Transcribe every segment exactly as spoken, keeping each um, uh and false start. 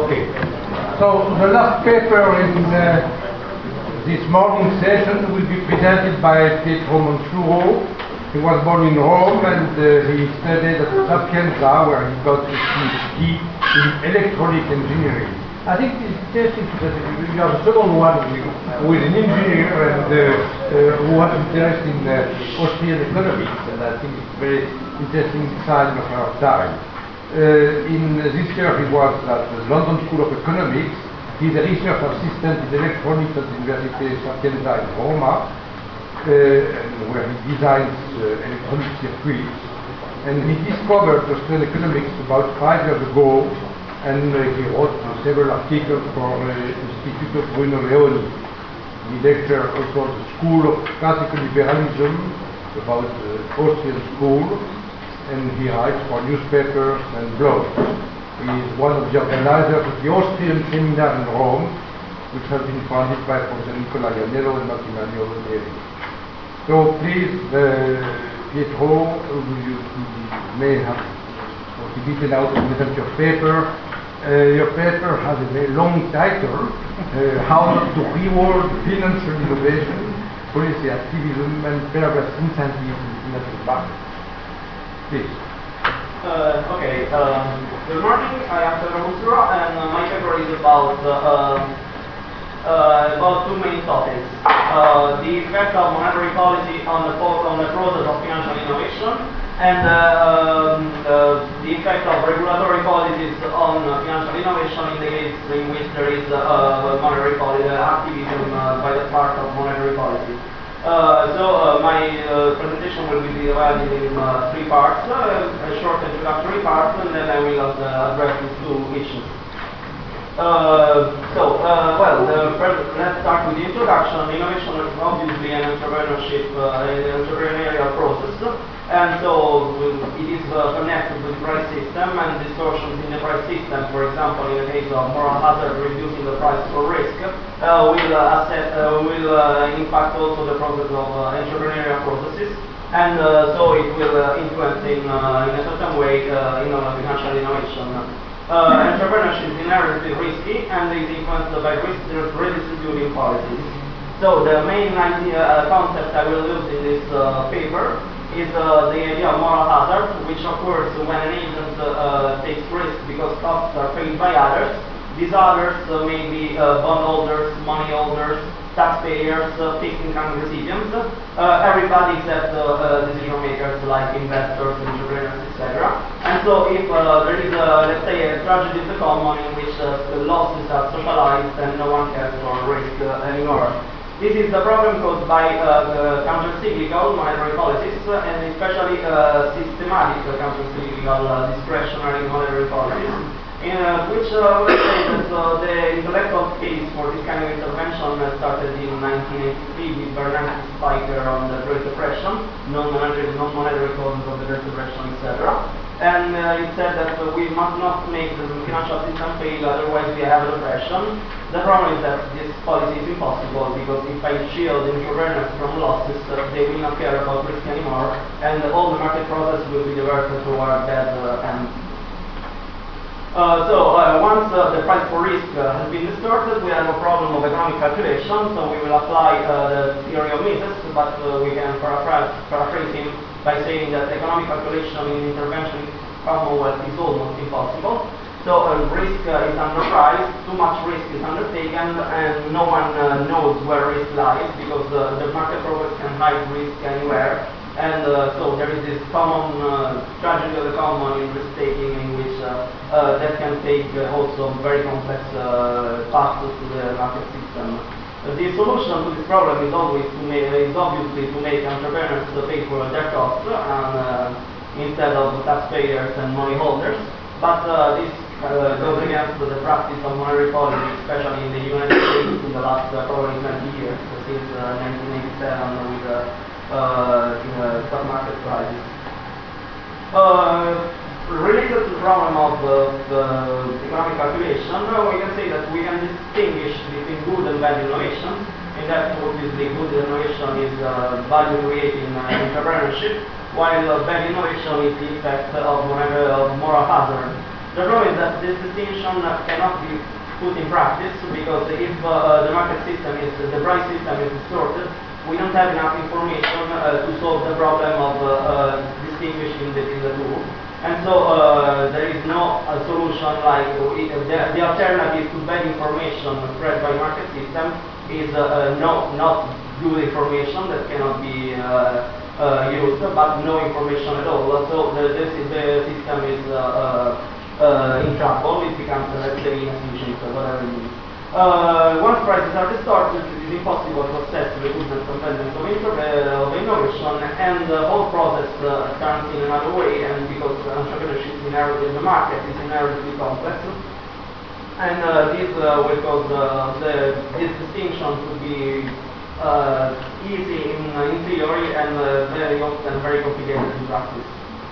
Okay. So the last paper in uh, this morning session will be presented by Pietro Monsuro. He was born in Rome and uh, he studied at Sapienza, where he got his PhD in electronic engineering. I think it's interesting that you are the second one who is an engineer and uh, uh, who has interest in uh, Austrian economics, and I think it's a very interesting sign of our time. Uh, in uh, this year he was at the London School of Economics. He's a research assistant in electronics at the University Sapienza in Roma, uh, where he designs uh, electronic circuits. And he discovered Austrian economics about five years ago, and uh, he wrote uh, several articles for the uh, Institute of Bruno Leoni. He lectured also at the School of Classical Liberalism about the uh, Austrian school, and he writes for newspapers and blogs. He is one of the organizers of the Austrian seminar in Rome, which has been founded by Professor Nicola Iannello and Martinaio Neri. So please, uh, Pietro, you, you may have possibility now to present your paper. Uh, your paper has a very long title, uh, How to Reward Financial Innovation, Policy Activism and Perverse Incentives in the Financial Market. Please. Uh, okay, um, good morning, I am Pietro Monsuro, and uh, my paper is about uh, uh, about two main topics. Uh, the effect of monetary policy on the, on the process of financial innovation, and uh, um, uh, the effect of regulatory policies on uh, financial innovation in the case in which there is uh, monetary policy activism uh, by the part of monetary policy. Uh, so uh, my uh, presentation will be divided in uh, three parts, uh, a short introductory part, and then I will uh, address these two issues. Uh, so, uh, well, the, let's start with the introduction. Innovation is obviously an entrepreneurship, uh, an entrepreneurial process, and so it is uh, connected with the price system and distortions in the price system. For example, in the case of moral hazard, reducing the price for risk uh, will uh, assess, uh, will uh, impact also the process of uh, entrepreneurial processes, and uh, so it will uh, influence in, uh, in a certain way uh, in uh, financial innovation. Uh, entrepreneurship is inherently risky and is influenced by risk redistributing policies. So the main idea, uh, concept I will use in this uh, paper is uh, the idea of moral hazard, which occurs when an agent uh, takes risk because costs are paid by others. These others uh, may be uh, bondholders, money holders, taxpayers, uh, fixed income recipients, uh, everybody except uh, uh, decision makers like investors, entrepreneurs, et cetera. And so if uh, there is, a, let's say, a tragedy of the common in which uh, the losses are socialized and no one cares for risk uh, anymore. This is the problem caused by uh, counter-cyclical monetary policies, uh, and especially uh, systematic uh, counter-cyclical uh, discretionary monetary policies, in uh, which uh, let's say that uh, the intellectual case for this kind of intervention uh, started in nineteen eighty-three with Bernanke Spiker on the Great Depression, non-monetary, non-monetary causes of the Great Depression, et cetera. And uh, it said that uh, we must not make the financial system fail, otherwise we have a depression. The problem is that this policy is impossible, because if I shield entrepreneurs from losses, uh, they will not care about risk anymore, and all the market process will be diverted toward that uh, end. Uh, so uh, once uh, the price for risk uh, has been distorted, we have a problem of economic calculation, so we will apply uh, the theory of Mises, but uh, we can paraphrase, paraphrase him by saying that economic calculation in intervention commonwealth is almost impossible. So uh, risk uh, is underpriced, too much risk is undertaken, and no one uh, knows where risk lies, because uh, the market process can hide risk anywhere. And uh, so there is this common uh, tragedy of the common in risk-taking, in which uh, uh, that can take uh, also very complex uh, paths to the market system. Uh, the solution to this problem is always to make, is obviously to make entrepreneurs pay for their costs, and, uh, instead of taxpayers and money holders. But uh, this uh, goes against the practice of monetary policy, especially in the United States in the last uh, probably twenty years, since uh, nineteen eighty-seven with uh, Uh, in a stock market crisis. Uh, related to the problem of uh, the economic calculation, uh, we can say that we can distinguish between good and bad innovation. In that, obviously, good innovation is uh, value creating uh, entrepreneurship, while uh, bad innovation is the effect of, of moral hazard. The problem is that this distinction cannot be put in practice because if uh, the market system is, the price system is distorted, we don't have enough information uh, to solve the problem of uh, uh, distinguishing between the two. And so uh, there is no uh, solution like uh, the, the alternative to bad information spread by market system is uh, uh, no, not good information that cannot be uh, uh, used, but no information at all. So the, the, the system is uh, uh, in trouble, it becomes, uh, let's say, inefficient, whatever it means. Uh, once prices are distorted, it is impossible to assess the goodness and badness of, uh, of innovation, and the whole process uh, turns in another way, and because entrepreneurship is inherently in the market is inherently complex, and uh, this uh, will cause uh, the, this distinction to be uh, easy in, in theory and uh, very often very complicated in practice.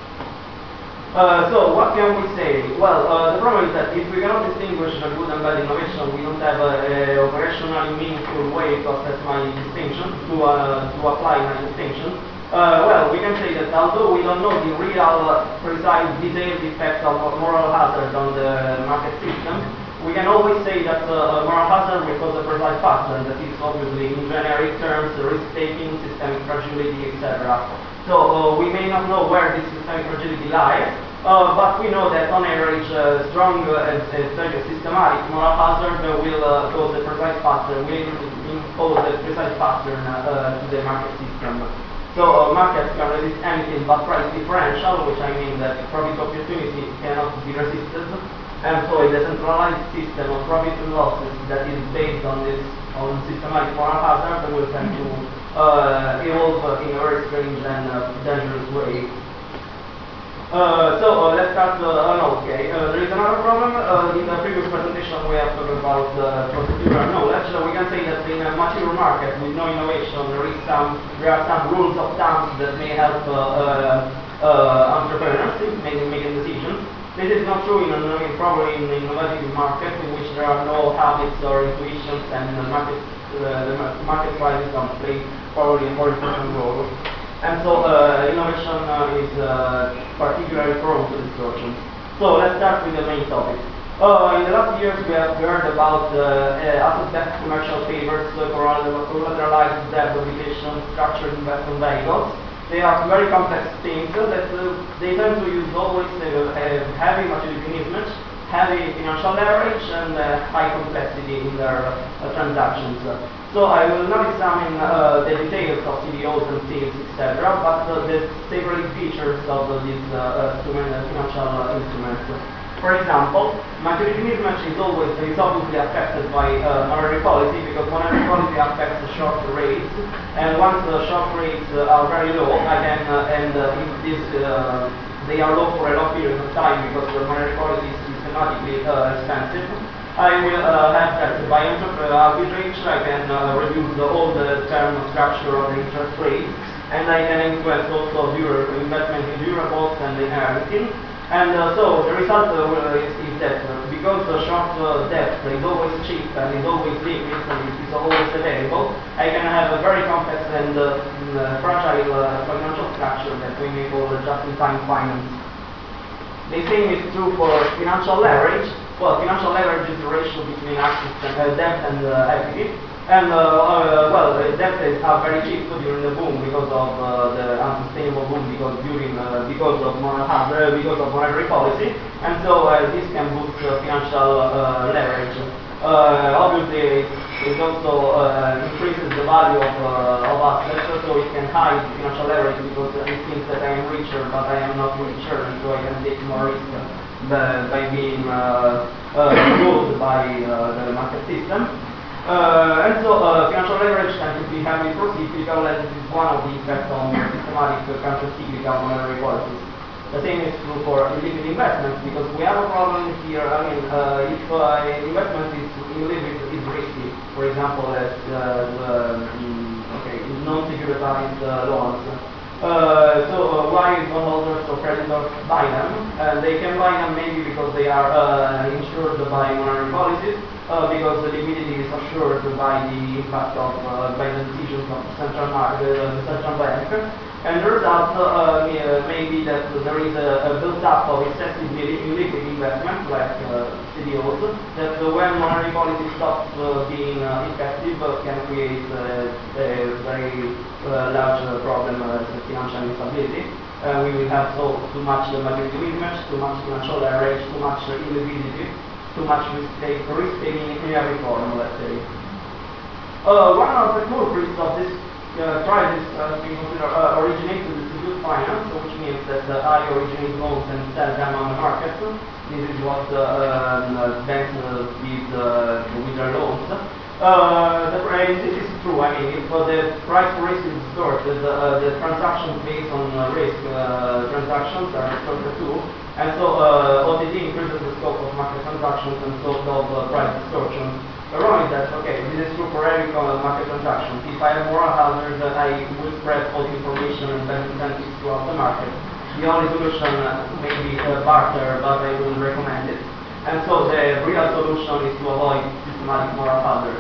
Uh, so what can we say? Well, uh, the problem is that if we cannot distinguish the good and bad innovation, we don't have a, a operationally meaningful way to assess my distinction, to, uh, to apply my distinction. Uh, well, we can say that although we don't know the real, uh, precise, detailed effect of moral hazard on the market system, we can always say that uh, moral hazard will cause a precise pattern that is obviously in generic terms, risk-taking, systemic fragility, et cetera. So uh, we may not know where this systemic fragility lies, uh, but we know that on average uh, strong uh, and uh, systematic moral hazard uh, will uh, cause a precise pattern, will impose a precise pattern uh, to the market system. So uh, markets can resist anything but price differential, which I mean that profit opportunity cannot be resisted, and so a decentralized system of profit and losses that is based on this on systematic moral hazard will tend to uh, evolve uh, in a very strange and uh, dangerous way. Uh, so uh, let's start. Uh, no, okay. Uh, there is another problem. Uh, in the previous presentation, we have talked about uh, procedural knowledge. Uh, we can say that in a mature market with no innovation, there is some there are some rules of thumb that may help uh, uh, uh, entrepreneurs in making, making decisions. This is not true in, in probably in an innovative market in which there are no habits or intuitions, and the market uh, the market prices don't play probably a more important role. And so uh, innovation uh, is uh, particularly prone to distortion. So let's start with the main topic. Uh, in the last years we have heard about uh, uh, asset-backed commercial papers, uh, collateralized debt obligation, structured investment vehicles. They are very complex things uh, that uh, they tend to use always uh, heavy maturity mismatch, heavy financial leverage, and uh, high complexity in their uh, transactions. So I will not examine uh, the details of C D Os and sales, et cetera, but uh, the several features of uh, these uh, uh, financial uh, instruments. For example, maturity mismatch is always is obviously affected by uh, monetary policy, because monetary policy affects the short rates, and once the short rates uh, are very low, I can uh, and uh, if this uh, they are low for a long period of time because the monetary policy is systematically uh, expensive, I will uh, have that by arbitrage. I can uh, reduce the, all the term structure of the interest rate, and I can influence also dura investment in durables and inheriting. And uh, so the result uh, is, is that uh, because the short uh, debt is always cheap and is always liquid and it is always available, I can have a very complex and uh, uh, fragile uh, financial structure that we may call just-in-time finance. The same is true for financial leverage. Well, financial leverage is the ratio between assets and uh, debt and uh, equity. And uh, uh, well, the debt is are very cheap during the boom because of uh, the unsustainable boom because during uh, because of uh, because of monetary policy, and so uh, this can boost uh, financial uh, leverage. Uh, obviously, it also uh, increases the value of, uh, of assets, so it can hide financial leverage because it seems that I am richer, but I am not richer, and so I can take more risk by, by being uh, uh, ruled by uh, the market system. Uh, and so uh, financial leverage tends to be heavily pro-cyclical, and this is one of the effects on systematic uh, counter-cyclical monetary policies. The same is true for illiquid investments, because we have a problem here. I mean, uh, if uh, investment is illiquid, is risky. For example, as uh, the, um, okay, non-securitized uh, loans. Uh, so uh, why bondholders or creditors buy them? Uh, they can buy them maybe because they are uh, insured by monetary policies. uh, because the liquidity is assured by the impact of uh, by the decisions of the central market, uh, the central bank, and the result uh, may be that there is a, a build-up of excessive illiquid investment, like uh, C D Os, that uh, when monetary policy stops uh, being uh, effective, uh, can create uh, a very uh, large uh, problem as uh, financial instability. Uh, we will have so too much uh, maturity mismatch, too much financial leverage, too much uh, illiquidity, too much risk-taking risk in every form, let's say. Uh, one of the culprits of this uh, crisis has been considered uh, originated in secured finance, which means that uh, I originate loans and sell them on the market. This is what uh, uh, banks uh, did uh, with their loans. Uh, the, and this is true. I mean, if uh, the price for risk is distorted, uh, the transactions based on uh, risk uh, transactions are distorted too, and so uh, O T C increases the scope of market transactions and so of uh, price distortion. The wrong is that, okay, this is true for every uh, market transaction. If I have moral hazard, uh, I will spread false information and bad incentives throughout the market. The only solution uh, may be uh, barter, but I wouldn't recommend it. And so the real solution is to avoid systematic moral hazard.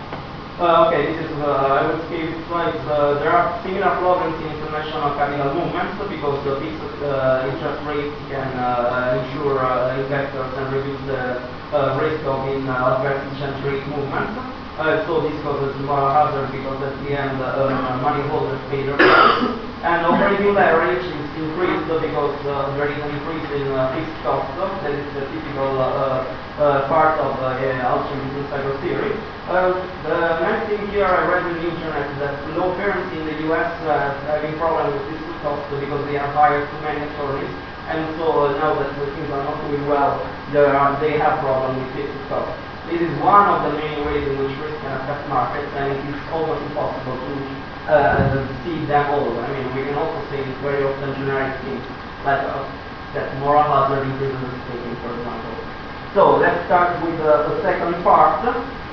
Uh, okay, this is, uh, I will skip this slide. Uh, there are similar problems in international capital movements because the fixed uh, interest rates can uh, ensure uh, investors and reduce the uh, risk of in uh, adverse exchange rate movements. Uh, so this causes moral hazard because at the end uh, money holders pay their price. And operating leverage is increased because uh, there is an increase in uh, fixed costs. That is the typical uh, uh, part of uh, Austrian business cycle theory. Uh, the next thing here I read on the internet that law firms in the U S uh, are having problems with fixed costs because they have hired too many attorneys. And so uh, now that the things are not doing well, there are, they have problems with fixed costs. This is one of the main ways in which risk can affect markets, and it is almost impossible to uh, see them all. I mean, we can also say very often generic things, like uh, that moral hazard increases risk-taking, for example. So let's start with uh, the second part.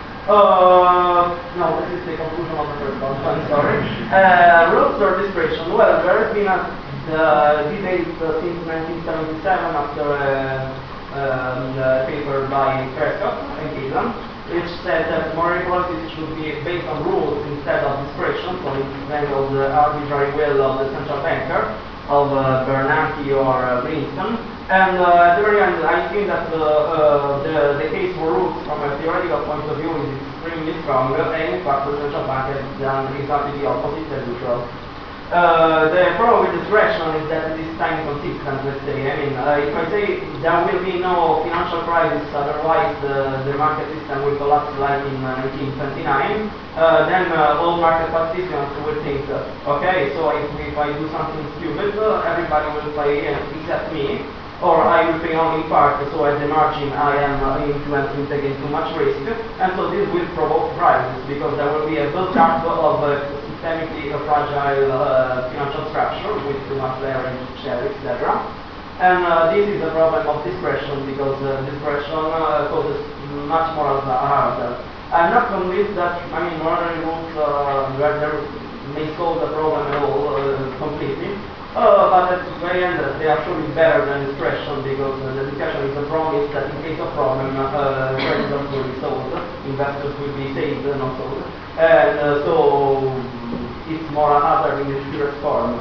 Uh, no, this is the conclusion of the first part, I'm sorry. Uh, rules or discretion. Well, there has been a uh, debate uh, since nineteen seventy-seven after uh, Um, uh, paper by Prescott and Gillan, which said that monetary policies should be based on rules instead of discretion, so instead of the arbitrary will of the central banker, of uh, Bernanke or uh, Greenspan. And uh, at the very end, I think that uh, uh, the, the case for rules from a theoretical point of view is extremely strong, and in fact the central bank has done exactly the opposite as usual. Uh, the problem with discretion is that it is time consistent, let's say. I mean, uh, if I say there will be no financial crisis, otherwise the, the market system will collapse like in uh, nineteen twenty-nine, uh, then uh, all market participants will think, uh, okay, so if, if I do something stupid, uh, everybody will pay uh, except me, or I will pay only in part, so at the margin I am uh, influencing, taking too much risk, and so this will provoke crisis, because there will be a build-up of uh, systemically a fragile uh, financial structure with too much leverage, share, et cetera. And uh, this is a problem of discretion because uh, discretion uh, causes much more harm. I'm not convinced that, I mean, monetary rules uh, may solve the problem at all uh, completely. Uh, but at the very end, uh, they are surely better than discretion because uh, the discretion is a promise that in case of problem, uh, creditors will be sold, investors will be saved, not sold. And uh, so it's more a hazard in its purest form.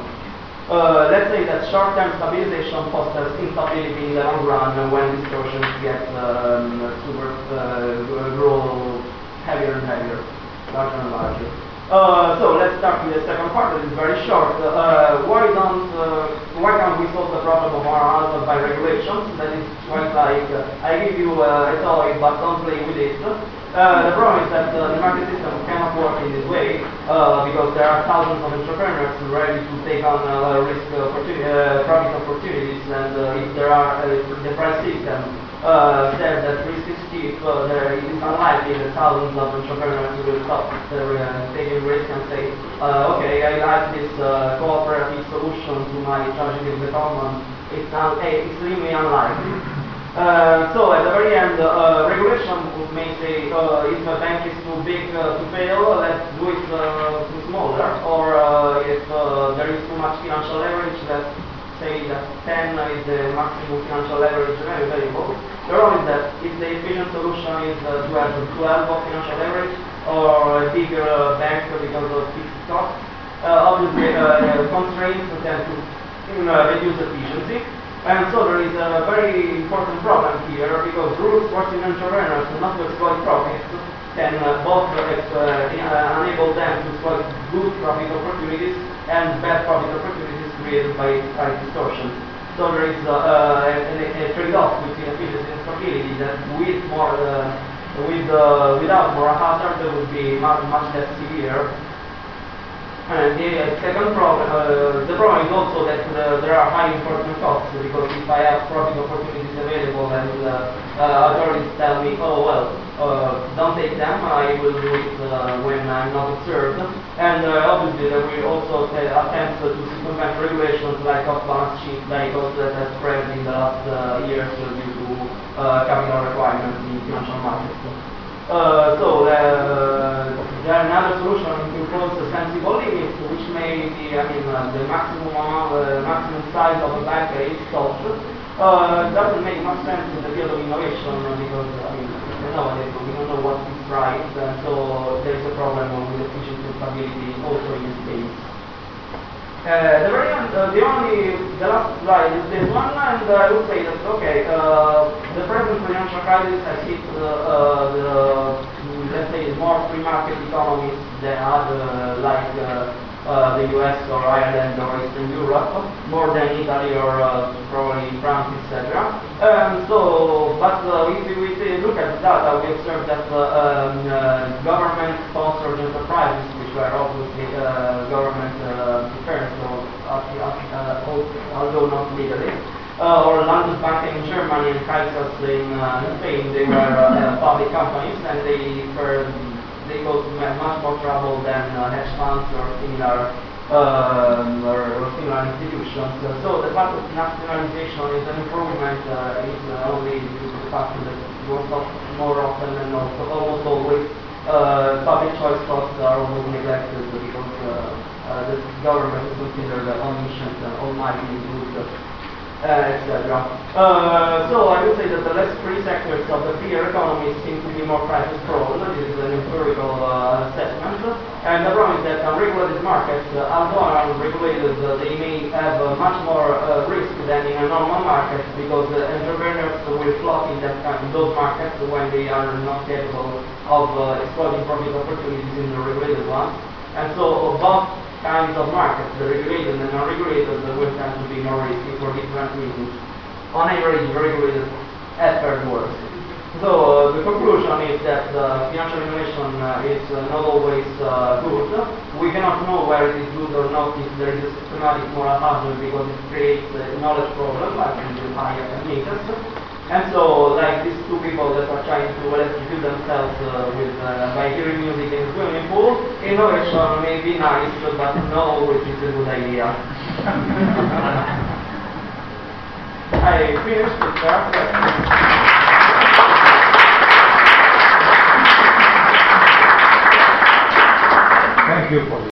Uh, let's say that short-term stabilization fosters instability in the long run when distortions get um, super uh, grow heavier and heavier, larger and larger. Uh, so let's start with the second part. That is very short. Uh, why don't uh, why can't we solve the problem of moral hazard by regulations? That is quite like uh, I give you uh, a toy, but don't play with it. Uh, the problem is that uh, the market system cannot work in this way uh, because there are thousands of entrepreneurs ready to take on uh, risk opportunity, uh, profit opportunities, and uh, if there are uh, the price system uh, said that risk is cheap, uh, there, it is unlikely that thousands of entrepreneurs will stop their, uh, taking risk and say, uh, okay, I like this uh, cooperative solution to my tragedy of the common. It's un extremely unlikely. Uh, so at the very end, uh, regulation may say uh, if a bank is too big uh, to fail, let's do it uh, too smaller, or uh, if uh, there is too much financial leverage, let's say that ten is the maximum financial leverage available. The problem is that if the efficient solution is uh, to have twelve of financial leverage or a bigger uh, bank because of fixed costs, uh, obviously uh, constraints tend to uh, reduce efficiency. And so there is a very important problem here because rules forcing entrepreneurs not to exploit profits can uh, both uh, uh, enable them to exploit good profit opportunities and bad profit opportunities created by price distortion. So there is uh, uh, a, a trade-off between efficiency and stability that with more, uh, with, uh, without more hazard would be much, much less severe. And the uh, second problem, uh, the problem is also that uh, there are high important costs because if I have profit opportunities available and uh, uh, authorities tell me, oh well, uh, don't take them, I will do it uh, when I'm not observed. And uh, obviously there will also uh, attempts to circumvent regulations like off-balance sheet vehicles that have spread in the last uh, years uh, due to uh, capital requirements in financial markets. Uh, so uh, there are another solution to impose a sensible limit, which may be, I mean, uh, the maximum amount, uh, maximum size of a bank is solved. Uh, doesn't make much sense in the field of innovation because, I mean, nowadays we don't know what is right, and so there is a problem with efficiency and stability also in this case. Uh, the very end, uh, the only, the last slide is this one, and uh, I would say that, okay, uh, the present financial crisis has hit uh, uh, the, let's say, more free market economies than other, like uh, uh, the U S or Ireland or Eastern Europe, more than Italy or uh, probably France, et cetera. Um, so, but uh, if we look at the data, we observe that uh, um, uh, government-sponsored enterprises, which were obviously uh, government uh, affairs, so, uh, uh, although not legally, uh, or Landesbank in Germany and Kaisers in, uh, in Spain, they were uh, public companies and they were they caused much more trouble than uh, hedge funds or similar um, or, or similar institutions. Uh, so the fact of nationalization is an improvement uh, is uh, only due to the fact that most of, more often than not, almost always uh, public choice costs are almost neglected because uh, uh, the government is considered uh, omniscient and almighty good. Uh, et cetera. Uh, so I would say that the less free sectors of the freer economy seem to be more crisis prone. This is an empirical uh, assessment. And the problem is that unregulated markets, uh, although are unregulated, uh, they may have uh, much more uh, risk than in a normal market because uh, entrepreneurs will flock in that kind, those markets when they are not capable of uh, exploiting profit opportunities in the regulated ones. And so both kinds of markets, the regulated and unregulated, will tend to be more risky for different reasons. On average, the regulated has fared worse. So uh, the conclusion is that uh, financial innovation uh, is uh, not always uh, good. We cannot know where it is good or not if there is a systematic moral hazard because it creates a knowledge problem, like in the higher meters. And so, like these two people that are trying to electrocute themselves uh, with, uh, by hearing music in a swimming pool, innovation may be nice, but not always is a good idea. I finished with that. Thank you for this.